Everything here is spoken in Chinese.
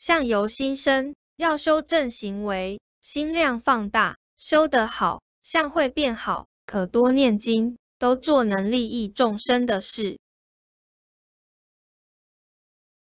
相由心生，要修正行为，心量放大，修得好，相会变好，可多念经，都做能利益众生的事。